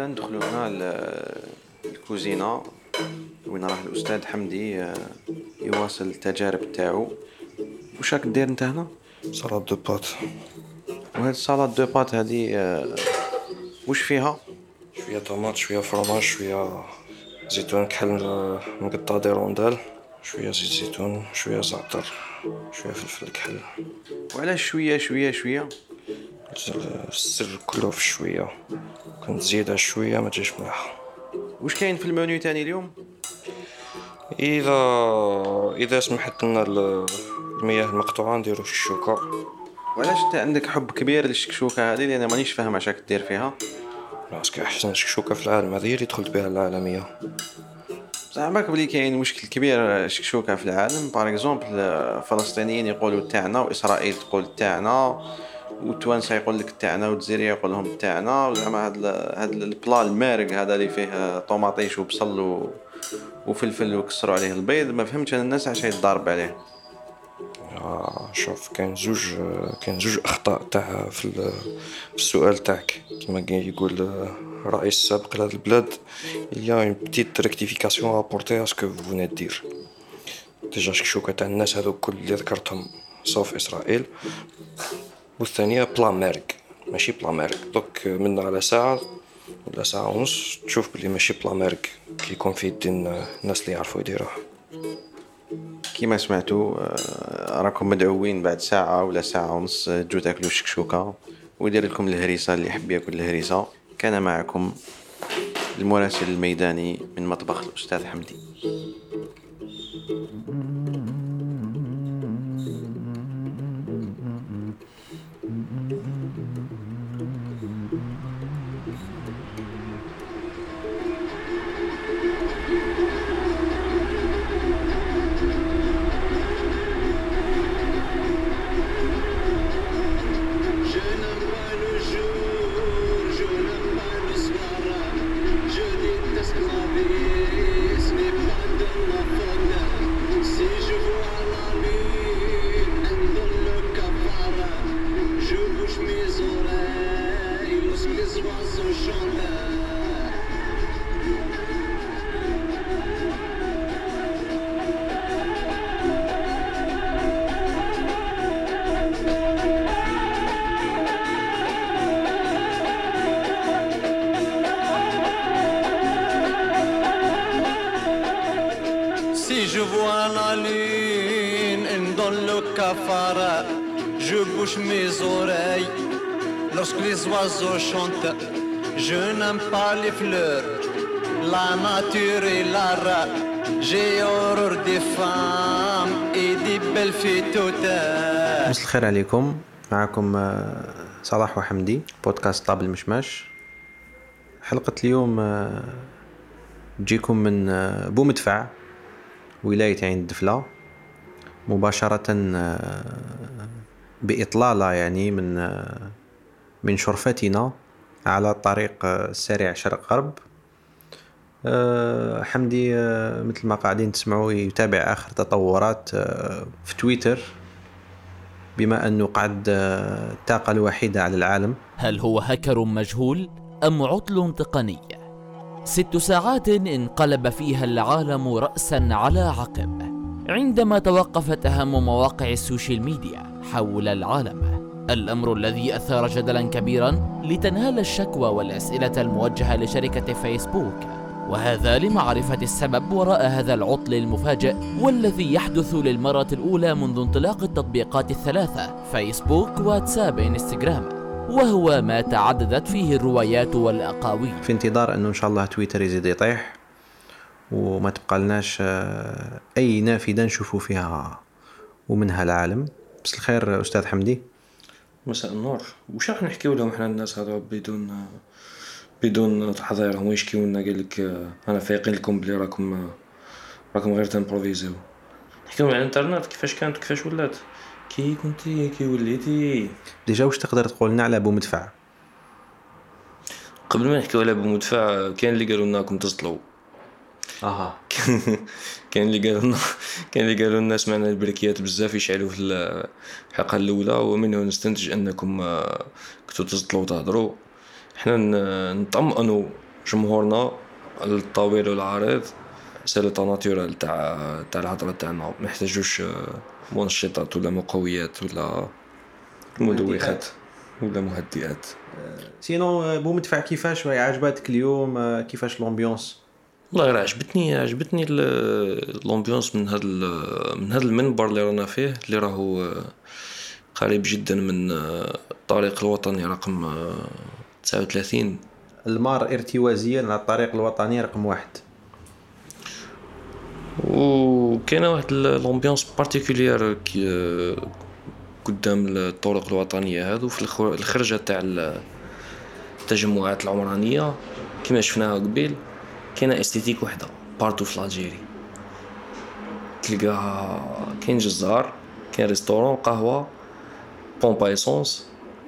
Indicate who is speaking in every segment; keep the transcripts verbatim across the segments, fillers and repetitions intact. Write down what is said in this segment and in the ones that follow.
Speaker 1: ندخلوا هنا ل- الكوزينة وين راه الأستاذ حمدي آه، يواصل التجارب تاعو. واش راك دير انت هنا؟
Speaker 2: سلطة دو بات.
Speaker 1: وهاد السلطة دو بات هادي آه، واش فيها؟
Speaker 2: شوية طماط، شوية فرماج، شوية زيتون كحل مقطع دي روندال، شوية زيت زيتون، شوية زعتر، شوية فلفل كحل.
Speaker 1: وعلاش شوية شوية شوية؟
Speaker 2: السر كله في الشوية، كنت زيادة شوية ما تجيش مليحة.
Speaker 1: واش كاين في المنيو تاني اليوم؟
Speaker 2: إذا إذا سمحت لنا ال- المياه المقطوعة نديرو الشوكة.
Speaker 1: وعلاش انت عندك حب كبير للشكشوكة هذه؟ لأن مانيش فاهم اش راك دير فيها.
Speaker 2: باسكو أحسن شكشوكة في العالم، هذه هي اللي دخلت بها العالمية.
Speaker 1: زعماك بلي كاين مشكل كبير شكشوكة في العالم. بار اكزومبل الفلسطينيين يقولوا تاعنا، واسرائيل تقول تاعنا، والتوانسه يقول لك تاعنا، والجزائريه يقول لهم تاعنا. زعما هاد ال- هاد البلا المارق هذا اللي فيه طوماطيش وبصل و... وفلفل وكسروا عليه البيض، ما فهمتش انا الناس علاش يتضارب عليه.
Speaker 2: آه شوف، كاين زوج كاين زوج اخطاء تاع في, ال- في السؤال تاعك. كما كاين يقول الرئيس السابق لهذا البلاد، il y a une petite rectification à apporter à ce que vous venez de dire. ديجا شكشوكة تاع الناس هذو كل اللي ذكرتهم صوف اسرائيل. والثانية بلا مارق، ماشي بلا مارق. دوك من على ساعة ولا ساعة ونص تشوف بلي ماشي بلا مارق كي يكون في يدين الناس اللي يعرفوا يديروه.
Speaker 1: كيما سمعتوا آه، راكم مدعوين بعد ساعه ولا ساعه ونص تجوا تاكلوا شكشوكه ويدير لكم الهريسه. اللي يحب ياكل الهريسه. كان معكم المراسل الميداني من مطبخ الأستاذ حمدي.
Speaker 3: Si je vois la lune dans le cafard, je bouge mes oreilles lorsque les oiseaux chantent. Je n'aime pas les fleurs, la nature est l'art. J'ai horreur des femmes et des belles filles toutes.
Speaker 1: مساء الخير عليكم. معكم آه، صلاح وحمدي، بودكاست طاب المشماش. حلقة اليوم آه، تجيكم من آه، بومدفع، ولاية عين الدفلة، مباشرة آه، بإطلالة يعني من آه، من شرفتنا على الطريق آه، السريع شرق غرب. آه، حمدي آه، مثل ما قاعدين تسمعوا يتابع آخر تطورات آه، في تويتر، بما أنه قعد آه، الطاقة الوحيدة على العالم.
Speaker 4: هل هو هاكر مجهول أم عطل تقني؟ ست ساعات انقلب فيها العالم رأسا على عقب عندما توقفت أهم مواقع السوشيال ميديا حول العالم، الأمر الذي أثار جدلا كبيرا لتنهال الشكوى والأسئلة الموجهة لشركة فيسبوك، وهذا لمعرفة السبب وراء هذا العطل المفاجئ والذي يحدث للمرة الأولى منذ انطلاق التطبيقات الثلاثة فيسبوك، واتساب، انستغرام، وهو ما تعددت فيه الروايات والأقاويل.
Speaker 1: في انتظار أنه إن شاء الله تويتر يزيد يطيح وما تبقى لناش آه، أي نافذة نشوفوا فيها ومنها العالم. بس الخير أستاذ حمدي.
Speaker 2: مساء النور. وش راح نحكيو لهم احنا الناس هذا بدون بدون تحضير؟ هم يشكيو لنا قال لك انا فايقين لكم بلي راكم راكم غير تنبروفيزيو. نحكيو على الانترنت كيفاش كانت وكيفاش ولات، كي كنتي كي وليتي.
Speaker 1: ديجا واش تقدر تقول لنا على بومدفع؟
Speaker 2: قبل ما نحكيو على بومدفع، كاين اللي قالوا لنا راكم تصدلوا.
Speaker 1: اها
Speaker 2: كاين اللي قالوا لنا كاين اللي قالوا لنا سمعنا البريكيات بزاف يشعلوا في الحلقه الاولى، ومنه نستنتج انكم كنتوا تصدلوا وتهضروا. احنا نطمئنوا جمهورنا الطويل والعريض سي لو ناتورال تاع تاع الهضره تاعنا، ما يحتاجوش منشطات ولا مقويات ولا مدوخات ولا مهدئات.
Speaker 1: سينو بو مدفع كيفاش عجبتك اليوم؟ كيفاش لومبيونس؟
Speaker 2: والله راه عجبتني عجبتني لومبيونس من هذا من هذا المنبر اللي رانا فيه، اللي راهو قريب جدا من الطريق الوطني رقم تسعة وثلاثين،
Speaker 1: المار ارتوازيا على الطريق الوطني رقم واحد.
Speaker 2: وكاينه واحد لومبيونس بارتيكولير قدام الطرق الوطنيه هذو في الخرجه تاع التجمعات العمرانيه كما شفناها قبيل. كاينه استيتيك وحده بارتو في الجيري، تلقاها كاين جزار، كاين ريستورون، قهوه، بومبا ايسونس،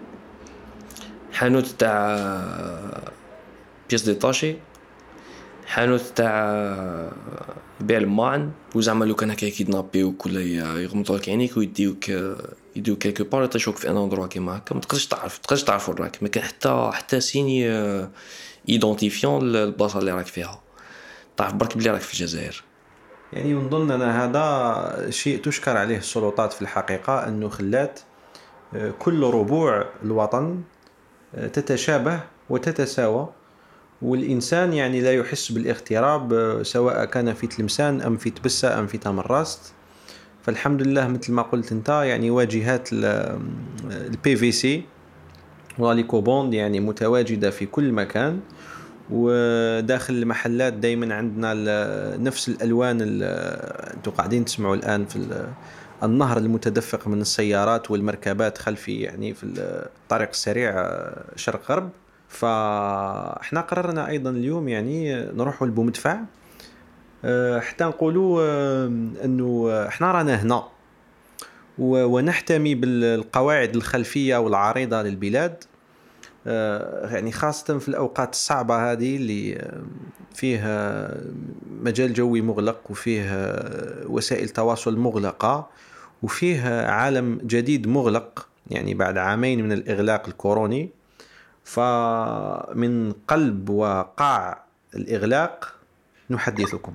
Speaker 2: حانوت تاع بيس ديتاشي، حانوت تاع يبيع الماعن. وزعما لو كان هكا يكيدنابيوك ولا يغمضوا لك عينيك ويديوك يديوك كيكو بار يطيشوك في ان اندروا كيما هكا، ما تقدرش تعرف ما تقدرش تعرف وراك، ما كان حتى حتى سيني ايدونتيفيون البلاصه اللي راك فيها، تعرف برك بلي راك في الجزائر.
Speaker 1: يعني نظن انا هذا شيء تشكر عليه السلطات في الحقيقه، انه خلات كل ربوع الوطن تتشابه وتتساوى، والإنسان يعني لا يحس بالاغتراب سواء كان في تلمسان أم في تبسة أم في تمراست. فالحمد لله مثل ما قلت انت يعني واجهات البي في سي واليكوبوند يعني متواجدة في كل مكان، وداخل المحلات دايما عندنا نفس الألوان. انتوا قاعدين تسمعوا الآن في النهر المتدفق من السيارات والمركبات خلفي يعني في الطريق السريع شرق غرب. فاحنا قررنا ايضا اليوم يعني نروحوا لبومدفع حتى نقولوا انه احنا رانا هنا ونحتمي بالقواعد الخلفيه والعريضه للبلاد، يعني خاصه في الاوقات الصعبه هذه اللي فيها مجال جوي مغلق وفيه وسائل تواصل مغلقه وفيه عالم جديد مغلق يعني بعد عامين من الاغلاق الكوروني. فمن قلب وقاع الإغلاق نحدثكم.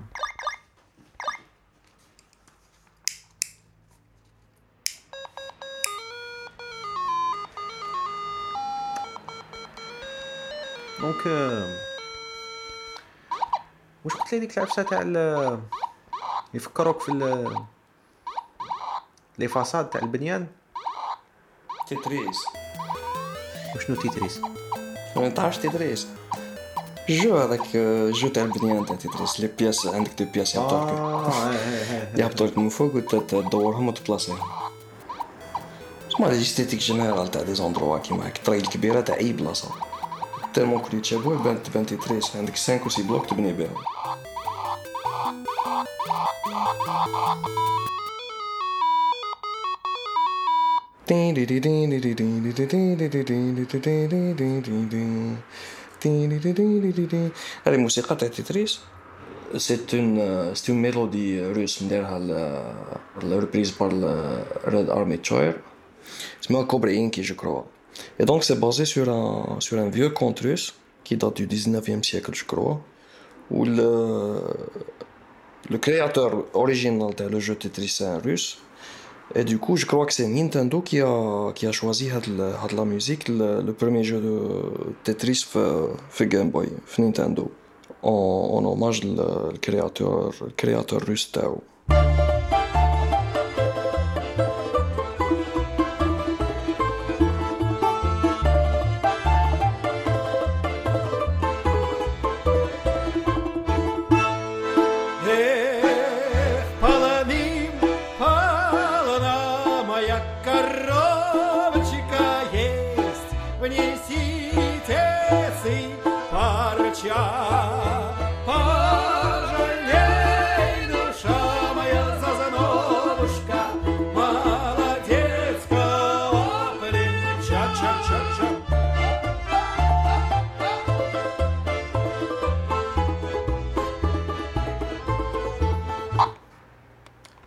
Speaker 1: دونك واش قلت لي ديك العفسه تاع يفكروك في لي فاصاد تاع البنيان؟
Speaker 2: تيتريس.
Speaker 1: وشنو تيتريس؟
Speaker 2: ما تعرفش تيتريس؟ جو هذاك جو تاع البنيان تاع تيتريس، لي بياس عندك دو بياس يهبطولك يهبطولك من فوق وتدورهم وتبلاصيهم. اسمها لي جيستيتيك جينيرال تاع دي زوندروا كيما هاك الطريق الكبيره تاع اي بلاصه تالمون كل يتشابهوا بان تبان تيتريس. عندك خمسة و ستة بلوك تبني بهم. هذه الموسيقى تاع تيتريس سيت اون سيت اون ميلودي روس نديرها الريبريز بار ريد ارمي تشاير اسمها كوبري انكي جو كروا. Et donc c'est basé sur un sur un vieux conte russe qui date du dix-neuvième siècle je crois, où le le créateur original de le jeu Tetris c'est un russe. Et du coup, je crois que c'est Nintendo qui a, qui a choisi de la musique, le, le premier jeu de Tetris fait Game Boy, fait Nintendo, en, en hommage au créateur, le créateur russe Tao.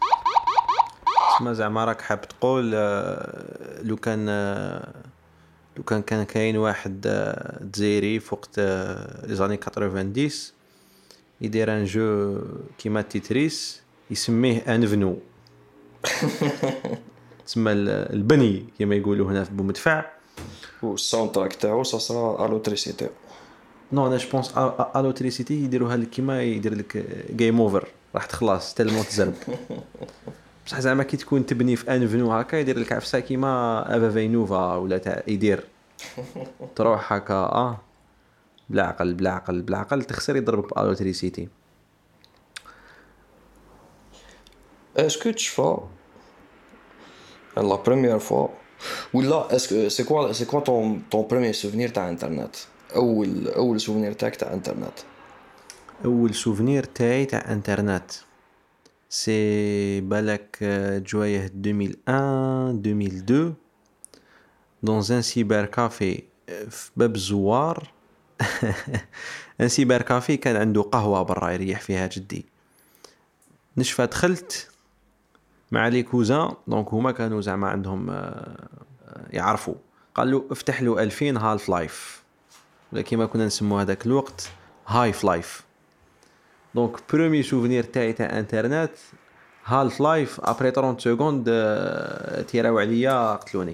Speaker 1: زعما راك حاب تقول لو كان وكان كان كاين واحد جزائري في وقت لي زاني ثمانين يدير ان جو كيما تيتريس يسميه انفنو تسمى البني كما يقولوا هنا في بومدفع.
Speaker 2: والساوند تراك تاعو صرا الوتريسيتي.
Speaker 1: نو انا جوبونس الوتريسيتي يديروها لك كيما يدير لك جيم اوفر راح تخلص تلمون تزرب. بصح زعما كي تكون تبني في انفنو هكا يدير لك عفسه كيما افا فينوفا ولا تاع يدير تروح هكا اه بلا عقل بلا عقل بلا عقل تخسر يضربك بالوتريسيتي.
Speaker 2: اسكو تشفا la première fois ولا اسكو سي كوا سي كوا ton ton premier souvenir تاع انترنت اول اول سوفونير تاعك تاع انترنت؟
Speaker 1: اول سوفونير تاعي تاع انترنت سي بالك جوايه ألفين وواحد ألفين واثنين dans un cybercafé في باب الزوار. ان سيبر كافي كان عنده قهوه برا يريح فيها جدي. نشفى دخلت مع لي كوزان دونك هما كانوا زعما عندهم يعرفوا قال له افتح له ألفين هالف لايف ولا كيما كنا نسموه هذاك الوقت هايف لايف. دونك برومي سوفونير تاعي تاع انترنت هالف لايف ابري ثلاثين سكوند تيراو عليا قتلوني.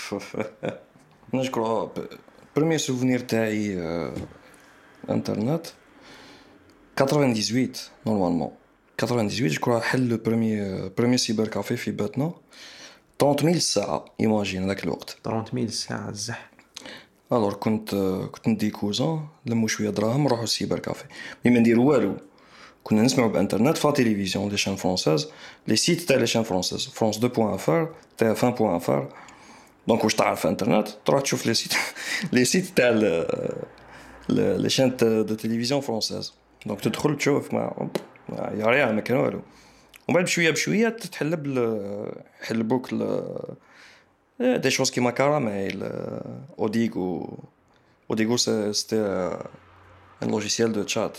Speaker 2: نشكر برومي سوفونير تاعي انترنت ثمانية وثمانين نورمالمون ثمانية وثمانين جو حل لو بروميي بروميي سيبر كافي في باتنا ثلاثين ألف ساعه ايماجين ذاك الوقت
Speaker 1: ثلاثين ألف ساعه الزح.
Speaker 2: الور كنت كنت ندي كوزان لمو شويه دراهم نروحو السيبر كافي مي ما نديرو والو كنا نسمعوا بانترنت فا تيليفزيون لي شان فرونساز لي سيت تاع لي شان فرونساز فرانس اثنين بوان فار تاع اف بوان فار. دونك واش تعرف انترنت تروح تشوف لي سيت لي سيت تاع لي شان دو تيليفزيون فرونساز. دونك تدخل تشوف ما يا ريا ما كان والو ومن بعد بشويه بشويه تتحلب حلبوك دي شوز كيما كاراميل اوديغو اوديغو سيتي ان لوجيسيال دو تشات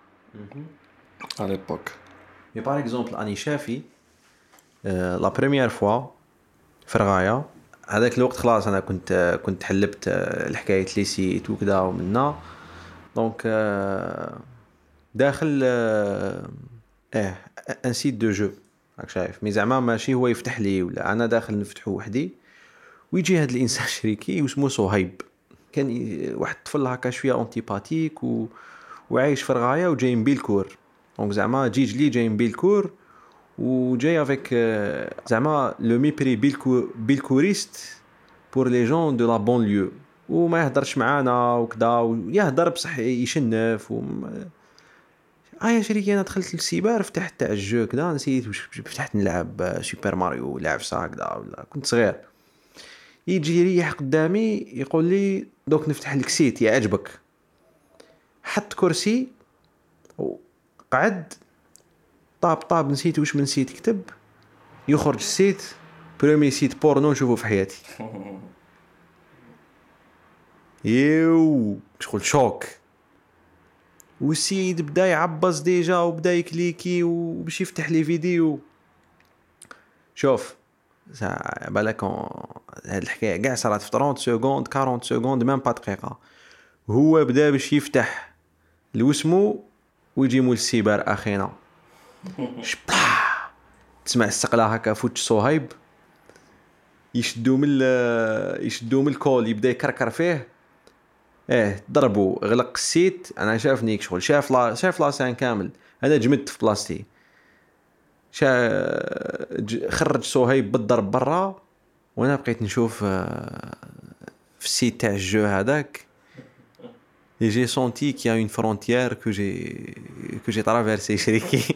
Speaker 2: à l'époque.
Speaker 1: Mais par exemple اني شافي لا بريمير فوا في رغايه هذاك الوقت خلاص انا كنت كنت حلبت الحكايه لي سيت وكذا ومنا دونك داخل اه ان سيت دو جو راك شايف مي زعما ماشي هو يفتح لي ولا انا داخل نفتحه وحدي ويجي هذا الانسان شريكي واسمه صهيب كان واحد الطفل هكا شويه انتيباتيك و... وعايش في رغايه وجاي من بيلكور دونك زعما جيج لي جاي من بيلكور وجاي افيك زعما لو ميبري بيلكو بيلكوريست بور لي جون دو لا بونليو وما يهضرش معانا وكذا ويهضر بصح يشنف و اه يا شريكي انا دخلت للسيبر فتحت تاع الجو كذا نسيت واش فتحت نلعب سوبر ماريو لعب سا كذا ولا كنت صغير يجي يريح قدامي يقول لي دوك نفتح لك سيت يعجبك حط كرسي وقعد طاب طاب نسيت واش من سيت كتب يخرج السيت بريمي سيت بورنو نشوفه في حياتي. يو شغل شوك والسيد بدا يعبص ديجا وبدا يكليكي وباش يفتح لي فيديو. شوف بالك هاد الحكايه كاع صارت في ثلاثين سكوند أربعين سكوند ميم با دقيقه هو بدا باش يفتح لوسمو ويجي مول السيبر اخينا شبا تسمع السقله هكا فوت صهيب يشدو من يشدو من الكول يبدا يكركر فيه اه ضربوا غلق السيت. انا شافني شغل شاف لا شاف لاسان كامل انا جمدت في بلاصتي شا خرج صهيب بالضرب برا وانا بقيت نشوف في السيت تاع الجو هذاك et j'ai senti qu'il y a une frontière que j'ai que j'ai traversée شريكي.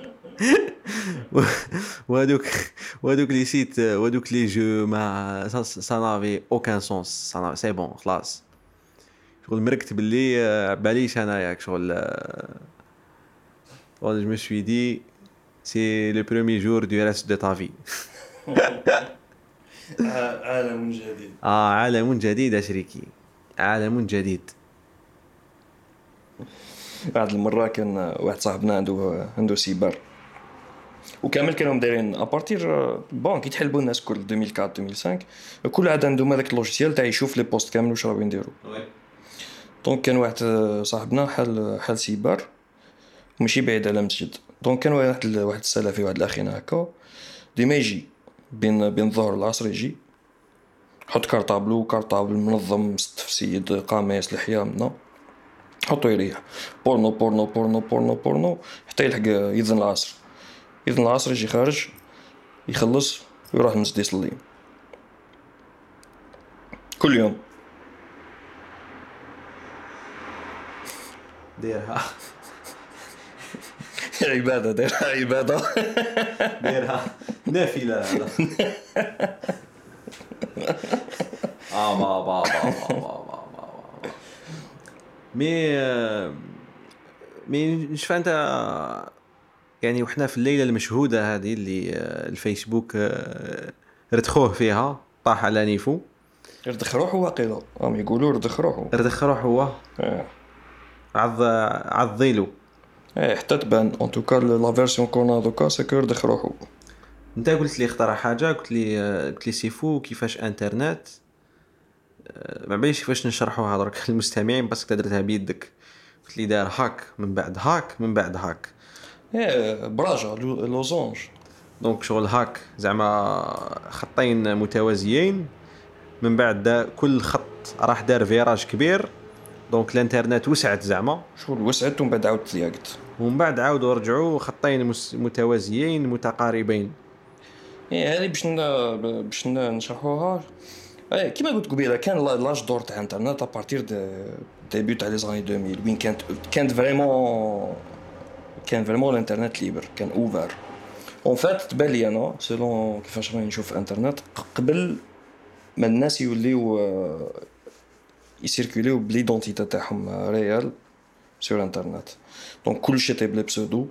Speaker 1: وهذوك وهذوك لي سيت وهذوك لي جو ما ça n'avait aucun sens ça c'est bon خلاص شغل مركت باللي باليش انا ياك شغل ولا je me suis dit c'est le premier jour du reste de ta vie.
Speaker 2: عالم جديد
Speaker 1: اه عالم جديد يا شريكي عالم جديد.
Speaker 2: بعد المرة كان واحد صاحبنا عنده عنده سيبر وكامل كانوا دايرين ابارتير بون كي تحلبوا الناس كل ألفين وأربعة ألفين وخمسة كل عاد عندهم هذاك اللوجيسيال تاع يشوف لي بوست كامل واش راهم يديروا. دونك كان واحد صاحبنا حل حل سيبر ماشي بعيد على مسجد. دونك كان واحد واحد السلفي واحد الاخينا هكا ديما يجي بين بين الظهر والعصر يجي حط كارطابلو كارطابل منظم مستف سيد قاميس لحيه منا حطو يريح بورنو بورنو بورنو بورنو بورنو حتى يلحق يذن العصر. يذن العصر يجي خارج يخلص ويروح المسجد يصلي كل يوم.
Speaker 1: ديرها
Speaker 2: عبادة ديرها عبادة
Speaker 1: ديرها نافلة هذا. اه با با با با با با مي مي نشوف انت يعني وحنا في الليله المشهوده هذه اللي الفيسبوك ردخوه فيها طاح على نيفو.
Speaker 2: ردخ روحو واقيلا راهم يقولوا ردخ روحو
Speaker 1: ردخ روحو هو
Speaker 2: اه
Speaker 1: عض عضيلو
Speaker 2: ايه حتى تبان ان توكا لا فيرسيون كونا دوكا سكو ردخ روحو.
Speaker 1: انت قلت لي اخترع حاجه قلت لي قلت لي سيفو كيفاش انترنت ما بعرفش كيفاش نشرحوها درك للمستمعين بس درتها بيدك. قلت لي دار هاك من بعد هاك من بعد هاك
Speaker 2: ايه براجا لوزونج.
Speaker 1: دونك شغل هاك زعما خطين متوازيين من بعد دا كل خط راح دار فيراج كبير. دونك الانترنت وسعت زعما
Speaker 2: شغل وسعت ومن بعد عاود ضيقت
Speaker 1: ومن بعد عاودوا رجعوا خطين متوازيين متقاربين.
Speaker 2: ايه هذه باش باش نشرحوها. ايه كيما قلت قبيله كان لاج دور تاع الانترنت ابارتير دو ديبيوت تاع لي زاني ألفين وين كانت كانت فريمون كان فريمون الانترنت ليبر كان اوفر اون فات. تبان لي انا سيلون كيفاش راني نشوف الانترنت قبل ما الناس يوليو يسيركوليو بليدونتيتي تاعهم ريال سور انترنت. دونك كل شيء تاع بلي بسودو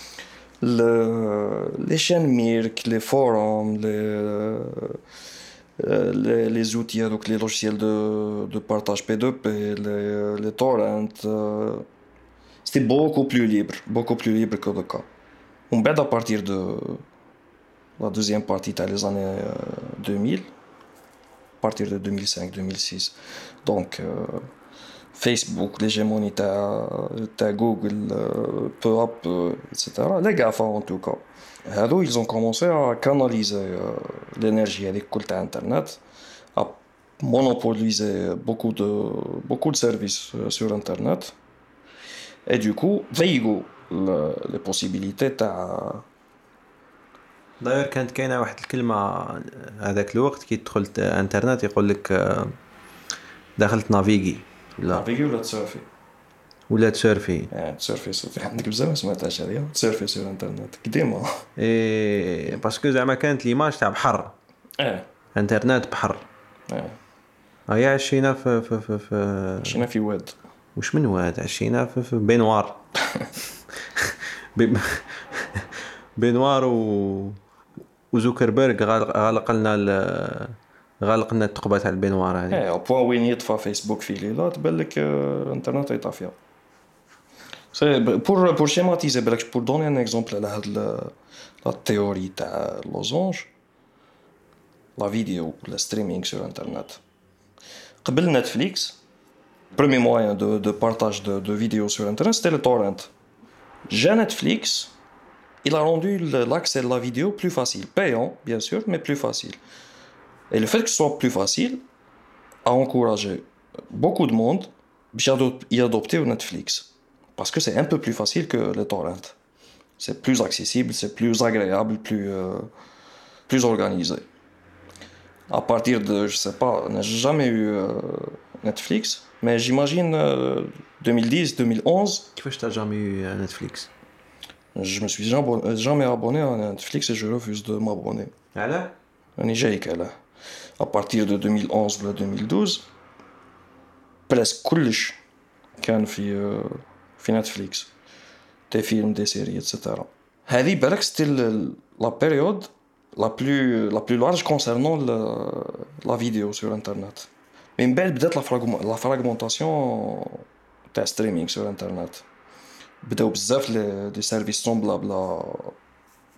Speaker 2: لي شان ميرك لي فوروم لي لي لي زوتي هذوك لي لوجيسيال دو دو بارطاج بي دو بي لي لي تورنت سيتي بوكو بلو ليبر بوكو بلو ليبر كو دوكا. ومن بعد ابارتير دو لا دوزيام بارتي تاع لي زاني deux mille partir de deux mille cinq deux mille six donc euh, Facebook l'hégémonie تاع تاع جوجل peu à peu etc les GAFA en tout cas هادو ils ont commencé à canaliser euh, l'énergie avec كل تاع internet à monopoliser beaucoup de beaucoup de services euh, sur internet et du coup ضيقوا les possibilités تاع.
Speaker 1: داير كانت كاينه واحد الكلمه هذاك الوقت كي دخلت انترنت يقول لك دخلت نافيغي
Speaker 2: ولا نافيغي ولا تسيرفي
Speaker 1: ولا تسيرفي
Speaker 2: اه تسيرفي صافي عندك بزاف ما سمعتهاش هذه تسيرفي سور انترنت قديمه
Speaker 1: اي باسكو زعما كانت ليماج تاع بحر
Speaker 2: اه
Speaker 1: انترنت بحر
Speaker 2: اه
Speaker 1: هيا عشينا في في في, في
Speaker 2: عشينا في واد
Speaker 1: واش من واد عشينا في, في بينوار بينوار و وزوكربيرغ غلق لنا غلق لنا الثقبه تاع البينوار هذه.
Speaker 2: ايه بوين وين يطفى فيسبوك في ليله تبان لك الانترنت يطفيها. سي بور بور شيماتيزي بالك بور دوني ان اكزومبل على هاد لا تيوري تاع لوزونج لا فيديو ولا ستريمينغ سور انترنت. قبل نتفليكس بريمي موين دو دو بارطاج دو دو فيديو سور انترنت سيتي لو تورنت. جا نتفليكس il a rendu l'accès à la vidéo plus facile, payant bien sûr, mais plus facile. Et le fait que ce soit plus facile a encouragé beaucoup de monde à y adopter Netflix. Parce que c'est un peu plus facile que les torrents. C'est plus accessible, c'est plus agréable, plus, euh, plus organisé. À partir de, je sais pas, on n'a jamais eu euh, Netflix, mais j'imagine euh, deux mille dix, deux mille onze.
Speaker 1: Qu'est-ce que tu n'as jamais eu Netflix?
Speaker 2: Je me suis jamais abonné à Netflix et je refuse de m'abonner.
Speaker 1: Alors?
Speaker 2: On est جايك علاه. À partir de deux mille onze ou deux mille douze, presque كلش كان في في نتفليكس. Des films, des séries, et cetera. هذه بالك ستيل la période la plus la plus large concernant la, la vidéo sur internet. من بعد بدات la fragmentation تاع streaming sur internet. بداو بزاف لي دي سيرفيس سومبلابل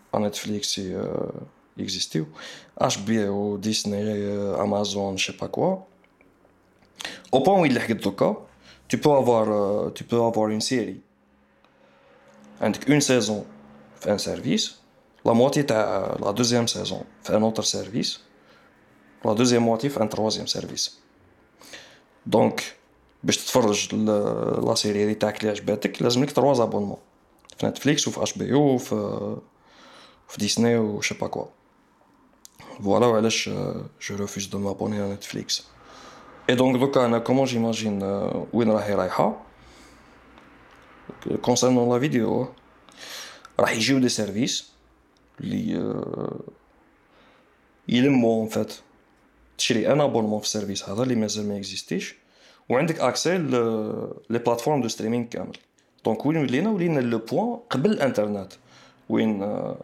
Speaker 2: Netflix euh, existent, H B O, Disney, euh, Amazon, je sais pas quoi. Au point où il est cas, tu peux avoir, euh, tu peux avoir une série, avec une saison, fait un service, la moitié de la deuxième saison, fait un autre service, la deuxième moitié fait un troisième service. Donc, باش تتفرج لا سيري اللي تاعك اللي عجبتك لازم لك trois abonnements في نتفليكس وفي اش بي او وفي في ديسني و شي با كوا. فوالا وعلاش جو ريفوز دو مابوني على نتفليكس. اي دونك دوكا انا كومون جيماجين وين راهي رايحه كونسيرنون لا فيديو راح يجيو دي سيرفيس اللي يلمو ان فات تشري ان ابونمون في السيرفيس هذا اللي مازال ما اكزيستيش وعندك اكسي لي بلاتفورم دو ستريمينغ كامل. دونك وين ولينا ولينا لو بوين قبل الانترنت وين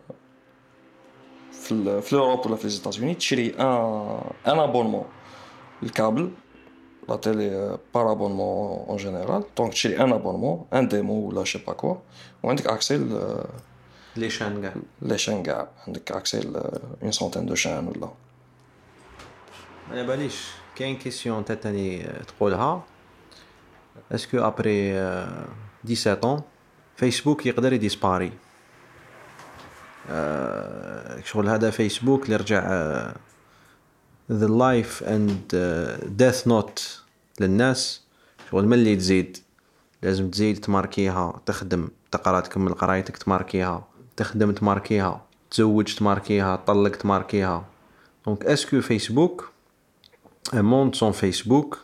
Speaker 2: في في اوروب ولا في لي ايتازوني تشري ان ان ابونمون الكابل لا تيلي بار ابونمون اون جينيرال. دونك تشري ان ابونمون ان ديمو ولا شي با كوا وعندك اكسي
Speaker 1: لي شان كاع
Speaker 2: لي شان كاع عندك اكسي اون سونتين دو شان ولا.
Speaker 1: انا باليش كاين كيسيون تاني تقولها اسكو ابري دix-sept ans فيسبوك يقدر يديسباري شغل هذا فيسبوك اللي رجع the life and death note للناس شغل ملي تزيد لازم تزيد تماركيها تخدم تقرا تكمل قرايتك تماركيها تخدم تماركيها تزوج تماركيها تطلق تماركيها. دونك اسكو فيسبوك un monde sans فيسبوك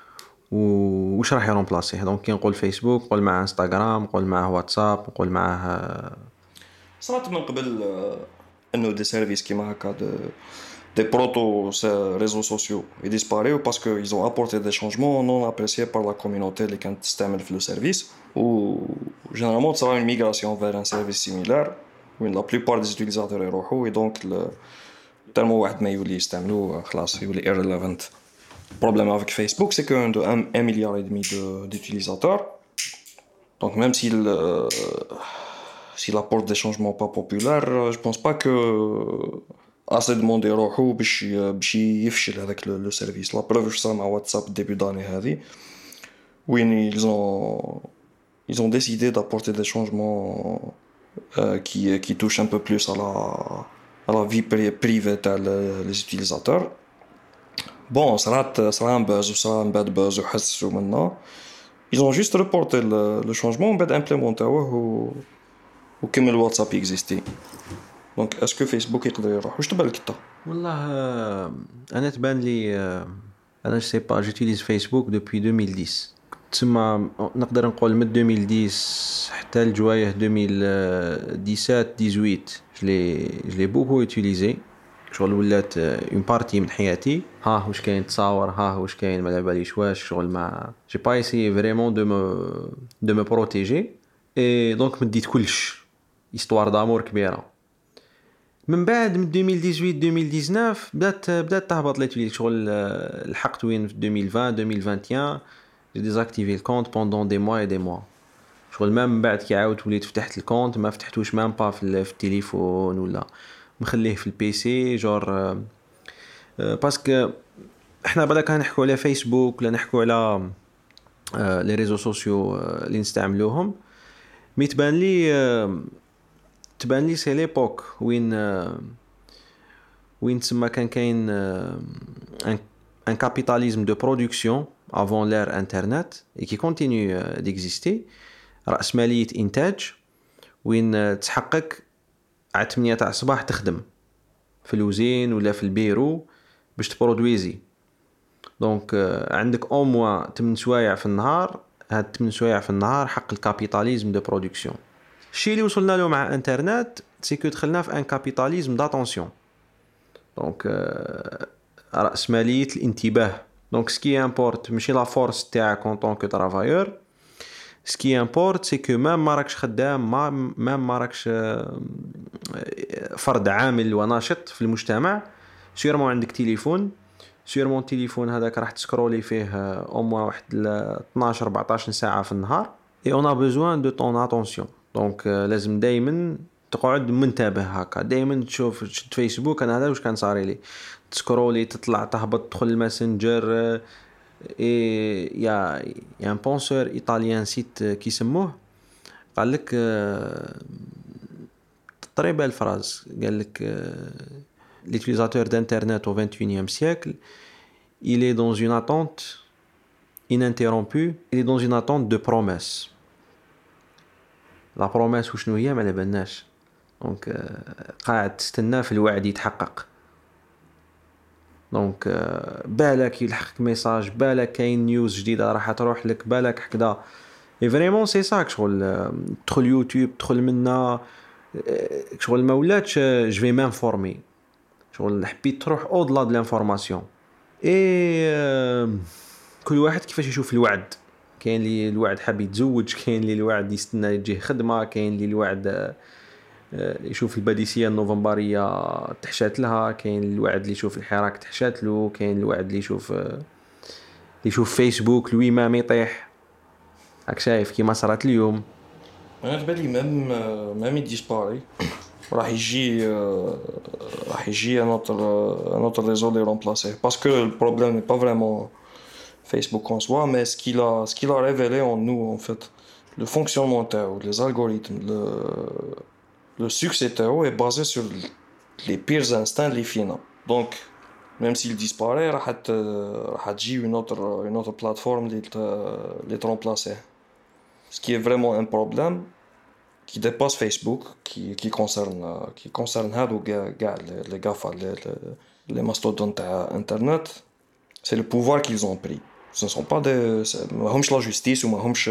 Speaker 1: وش راح يرومبلاسيه؟ دونك كي نقول فيسبوك نقول معاه انستغرام نقول معاه واتساب نقول معاه
Speaker 2: صارت من قبل انه دي سيرفيس كيما هكا دي بروتو ريزو سوسيو يديسباريو باسكو ils ont apporté des changements non appréciés par la communauté اللي كانت تستعمل في لو سيرفيس و généralement تصرا une migration vers un service similaire وين la plupart des utilisateurs يروحوا et donc تالمو واحد ما يولي يستعملو خلاص يولي irrelevant. Le problème avec Facebook, c'est qu'on a un, un milliard et demi d'utilisateurs. Donc même s'il, euh, s'il apporte des changements pas populaires, je pense pas que assez de monde يروحوا باش باش يفشل هذاك le service. La preuve je sais مع WhatsApp début d'année هذه وين ils ont ils ont décidé d'apporter des changements euh, qui qui touchent un peu plus à la à la vie privée des utilisateurs. Bon, ça a ça a un buzz ou ça a un bad buzz ou حسوا منه. Ils ont juste reporté le, le changement وبعد implémenté-وه و وكمل الواتساب يكزيستي. دونك اسكو فيسبوك يقدر يروح واش تبان لك انت؟
Speaker 1: والله انا تبان لي انا سي با جوتيليز فيسبوك دوبوي deux mille dix تسمى نقدر نقول من deux mille dix حتى الجوايه deux mille dix-sept dix-huit je l'ai je l'ai beaucoup utilisé شغل ولات اون بارتي من حياتي. ها واش كاين تصاور ها واش كاين ما على باليش واش شغل ما جي با ايسي فريمون دو مو دو مو بروتيجي اي دونك مديت كلش استوار دامور كبيره. من بعد من deux mille dix-huit deux mille dix-neuf بدات بدات تهبط لي تولي شغل الحقت وين في deux mille vingt deux mille vingt et un j'ai désactivé le compte pendant des mois et des mois شغل ما من بعد كي عاودت وليت فتحت الكونت ما فتحتوش مام با في التليفون ولا مخليه في البي سي جور باسكو احنا بعدا كان نحكوا على فيسبوك ولا نحكوا على لي ريزو سوسيو اللي نستعملوهم مي تبان لي تبان لي سي ليبوك وين وين تسمى كان كاين ان ان كابيتاليزم دو برودكسيون avant l'ère internet et qui continue d'exister. رأسمالية إنتاج وين تحقق على ثمانية تاع الصباح تخدم في الوزين ولا في البيرو باش تبرودويزي. دونك عندك او موا ثمانية سوايع في النهار. هاد ثمانية سوايع في النهار حق الكابيتاليزم دو برودكسيون. الشيء اللي وصلنا له مع انترنت سي كو دخلنا في ان كابيتاليزم داتونسيون. دونك رأسمالية الانتباه. دونك سكي امبورت ماشي لا فورس تاعك ان طونك ترافايور. سكي امبورت سي كو مام ما راكش خدام ما مام ما راكش فرد عامل وناشط في المجتمع سيرمون عندك تليفون سيرمون التليفون هذاك راح تسكرولي فيه او موا واحد اثناش أربعطاش ساعه في النهار اي اون ا بيزوان دو طون اتونسيون. دونك لازم دائما تقعد منتبه هكا دائما تشوف تشد فيسبوك. انا هذا واش كان صاري لي تسكرولي تطلع تهبط تدخل الماسنجر. اي يا يا ان بونسور ايطاليان سيت كيسموه قال لك تقريبا الفراز قال لك l'utilisateur d'internet au vingt et unième siècle il est dans une attente ininterrompue, il est dans une attente de promesse. La promesse وشنو هي ما على بالناش. دونك قاعد تستنى في الوعد يتحقق. دونك بالك يلحقك ميساج، بالك كاين نيوز جديده راح تروح لك، بالك هكذا. اي فريمون سي سا شغل تدخل يوتيوب تدخل منا شغل ما ولاتش جو في مانفورمي شغل حبيت تروح اودلا د لانفورماسيون. اي كل واحد كيفاش يشوف الوعد. كاين اللي الوعد حاب يتزوج، كاين اللي الوعد يستنى يجيه خدمه، كاين اللي الوعد يشوف الباديسيه النوفمبريه تحشات لها، كاين الوعد اللي يشوف الحراك تحشات له، كاين الوعد اللي يشوف اللي يشوف فيسبوك لوي ما يطيح. راك شايف كيما صارت اليوم.
Speaker 2: انا بالي ميم ميم ديسباري راح يجي راح يجي un autre un autre réseau les remplacer parce que le problème n'est pas vraiment Facebook en soi, mais ce qu'il a ce qu'il a révélé en nous en fait, le fonctionnement ou les algorithmes, le le succès est basé sur les pires instincts les finaux. Donc même s'il disparaît راح راح تجي une autre une autre plateforme les les remplacer. Ce qui est vraiment un problème qui dépasse Facebook, qui qui concerne qui concerne هادو كاع les GAFA les les mastodontes internet, c'est le pouvoir qu'ils ont pris. Ce ne sont pas des mahomch la justice ou mahomch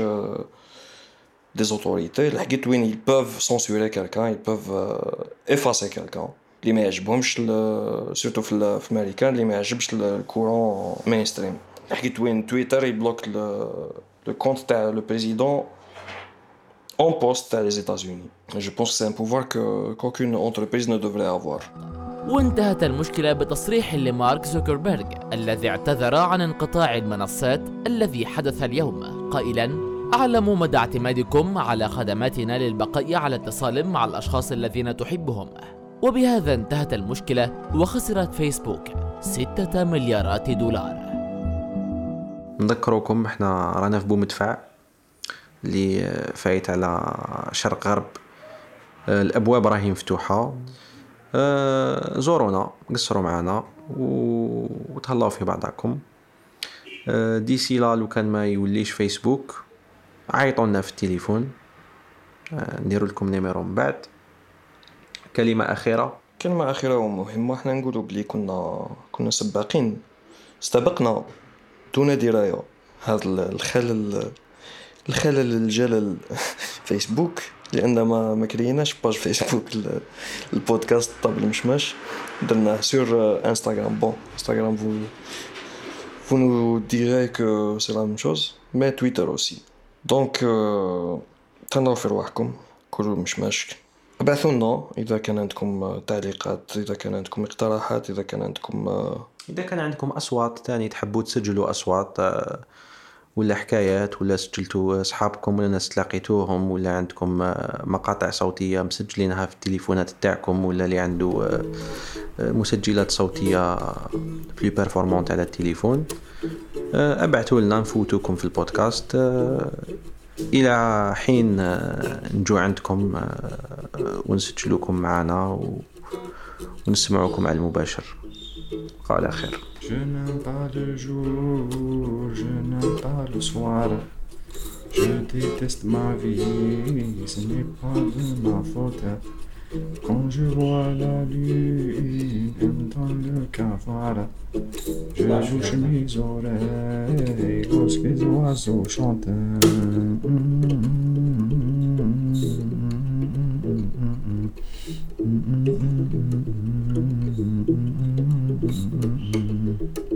Speaker 2: des autorités. الحاجات وين ils peuvent censurer quelqu'un, ils peuvent effacer quelqu'un. اللي ما يعجبهمش surtout في في الامريكان اللي ما يعجبش الكورون mainstream. الحاجات وين تويتر يبلوك le compte تاع le président en poste les États-Unis. Je pense que c'est un pouvoir que qu'aucune entreprise ne devrait avoir.
Speaker 4: وانتهت المشكلة بتصريح لمارك زوكربيرغ الذي اعتذر عن انقطاع المنصات الذي حدث اليوم قائلا: أعلم مدى اعتمادكم على خدماتنا للبقاء على اتصال مع الأشخاص الذين تحبهم. وبهذا انتهت المشكلة وخسرت فيسبوك ستة مليارات دولار.
Speaker 1: نذكركم احنا رانا في بومدفع اللي فايت على شرق غرب. الابواب راهي مفتوحه. زورونا قصروا معنا وتهلاو في بعضكم. ديسي لا لو كان ما يوليش فيسبوك عيطوا لنا في التليفون نديروا لكم نيميرو من بعد. كلمه اخيره
Speaker 2: كلمه اخيره ومهمه. احنا نقولوا بلي كنا كنا سباقين استبقنا دون درايه هذا الخلل الخلل الجلل فيسبوك، لان ما ما كريناش باج فيسبوك البودكاست طاب المشماش، درناه سور انستغرام. بون انستغرام vous vous nous direz que c'est la même chose, mais Twitter aussi. donc تنظروا في رواحكم كلوا مشماش. ابعثوا لنا اذا كان عندكم تعليقات، اذا كان عندكم اقتراحات، اذا كان عندكم
Speaker 1: اذا كان عندكم اصوات تاني تحبوا تسجلوا اصوات ولا حكايات، ولا سجلتوا اصحابكم ولا ناس تلاقيتوهم، ولا عندكم مقاطع صوتيه مسجلينها في التليفونات تاعكم، ولا اللي عنده مسجلات صوتيه بلو بيرفورمانت على التليفون، ابعثوا لنا نفوتوكم في البودكاست الى حين نجو عندكم ونسجلوكم معنا ونسمعوكم على المباشر. قال خير.
Speaker 5: Je n'aime pas le jour, je n'aime pas le soir. Je déteste ma vie, ce n'est pas de ma faute. Quand je vois la lune dans le cavale, je bouge mes oreilles lorsque les oiseaux chantent. Mm-hmm.